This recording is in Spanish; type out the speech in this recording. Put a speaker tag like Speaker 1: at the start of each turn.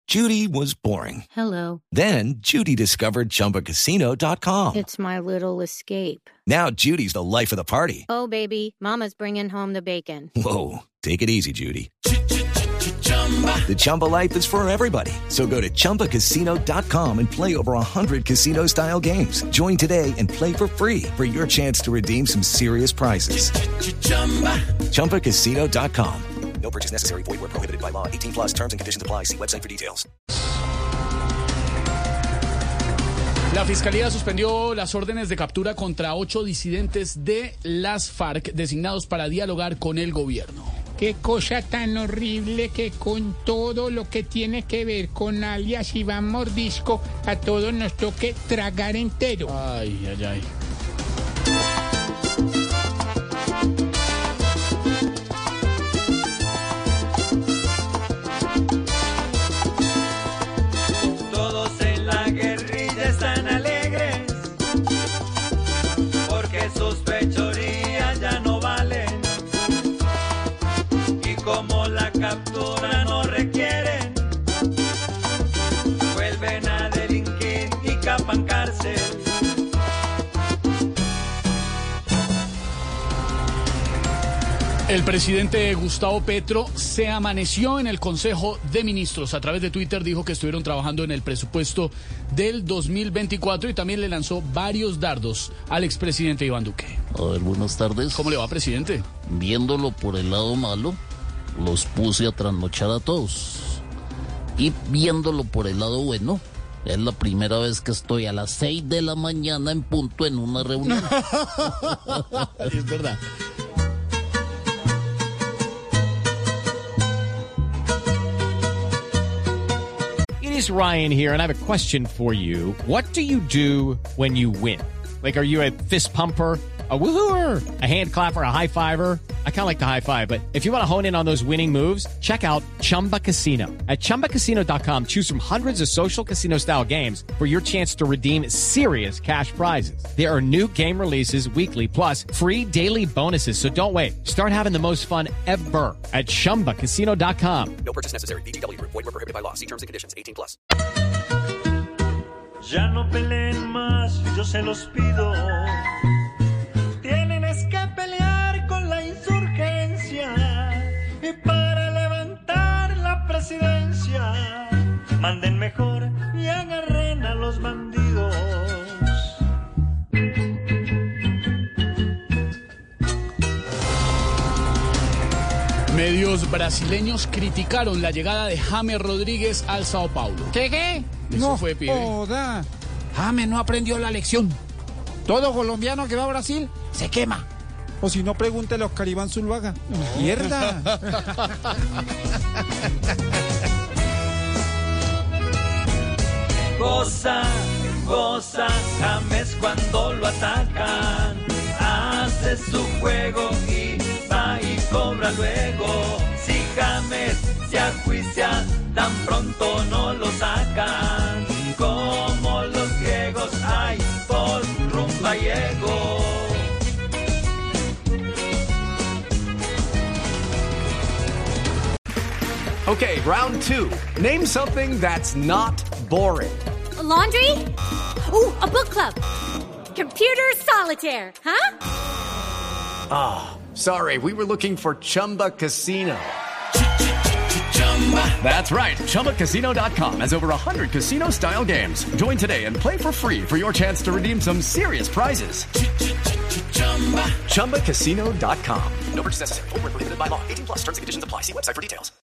Speaker 1: Judy was boring.
Speaker 2: Hello.
Speaker 1: Then Judy discovered ChumbaCasino.com.
Speaker 2: It's my little escape.
Speaker 1: Now Judy's the life of the party.
Speaker 2: Oh, baby, mama's bringing home the bacon.
Speaker 1: Whoa, take it easy, Judy. The Chumba life is for everybody. So go to ChumbaCasino.com and play over 100 casino-style games. Join today and play for free for your chance to redeem some serious prizes. ChumbaCasino.com. No purchase necessary. Void where prohibited by law. 18 plus terms and conditions apply. See website for details.
Speaker 3: La Fiscalía suspendió las órdenes de captura contra 8 disidentes de las FARC designados para dialogar con el gobierno.
Speaker 4: Qué cosa tan horrible que con todo lo que tiene que ver con alias Iván Mordisco, a todos nos toque tragar entero.
Speaker 3: Ay, ay, ay.
Speaker 5: Todos en la guerrilla están alegres, porque sus fechorías ya no valen. Como la captura no requieren, vuelven a delinquir y capan cárcel.
Speaker 3: El presidente Gustavo Petro se amaneció en el Consejo de Ministros. A través de Twitter dijo que estuvieron trabajando en el presupuesto del 2024 y también le lanzó varios dardos al expresidente Iván Duque.
Speaker 6: A ver, buenas tardes.
Speaker 3: ¿Cómo le va, presidente?
Speaker 6: Viéndolo por el lado malo, los puse a trasnochar a todos. Y viéndolo por el lado bueno, es la primera vez que estoy a las 6 de la mañana en punto en una reunión.
Speaker 3: Es verdad.
Speaker 7: It is Ryan here, and I have a question for you. What do you do when you win? Like, are you a fist pumper, a woohooer, a hand clapper, a high fiver? I kind of like the high five, but if you want to hone in on those winning moves, check out Chumba Casino. At ChumbaCasino.com, choose from hundreds of social casino-style games for your chance to redeem serious cash prizes. There are new game releases weekly, plus free daily bonuses, so don't wait. Start having the most fun ever at ChumbaCasino.com.
Speaker 1: No purchase necessary. VGW Group. Void where prohibited by law. See terms and conditions. 18 plus.
Speaker 5: Ya no peleen más, yo se los pido. Tienen es que pelear con la insurgencia y para levantar la presidencia manden mejor y agarren a los bandidos.
Speaker 3: Medios brasileños criticaron la llegada de James Rodríguez al Sao Paulo.
Speaker 4: ¿Qué?
Speaker 3: Eso
Speaker 4: No
Speaker 3: fue, pibe.
Speaker 4: joda. James no aprendió la lección. Todo colombiano que va a Brasil se quema.
Speaker 8: O si no, pregúntele a Oscar Iván Zuluaga. ¡Mierda!
Speaker 5: Goza, goza, James cuando lo atacan. Hace su juego y va y cobra luego. Si James se ajuicia, tan pronto no lo sacan. Como los griegos, ay, por rumba llego.
Speaker 9: Okay, round 2. Name something that's not boring.
Speaker 10: A laundry? Ooh, a book club. Computer solitaire, huh?
Speaker 9: Ah, sorry, we were looking for Chumba Casino. That's right, ChumbaCasino.com has over 100 casino-style games. Join today and play for free for your chance to redeem some serious prizes. ChumbaCasino.com.
Speaker 1: No purchase necessary. Void where prohibited by law. 18 plus terms and conditions apply. See website for details.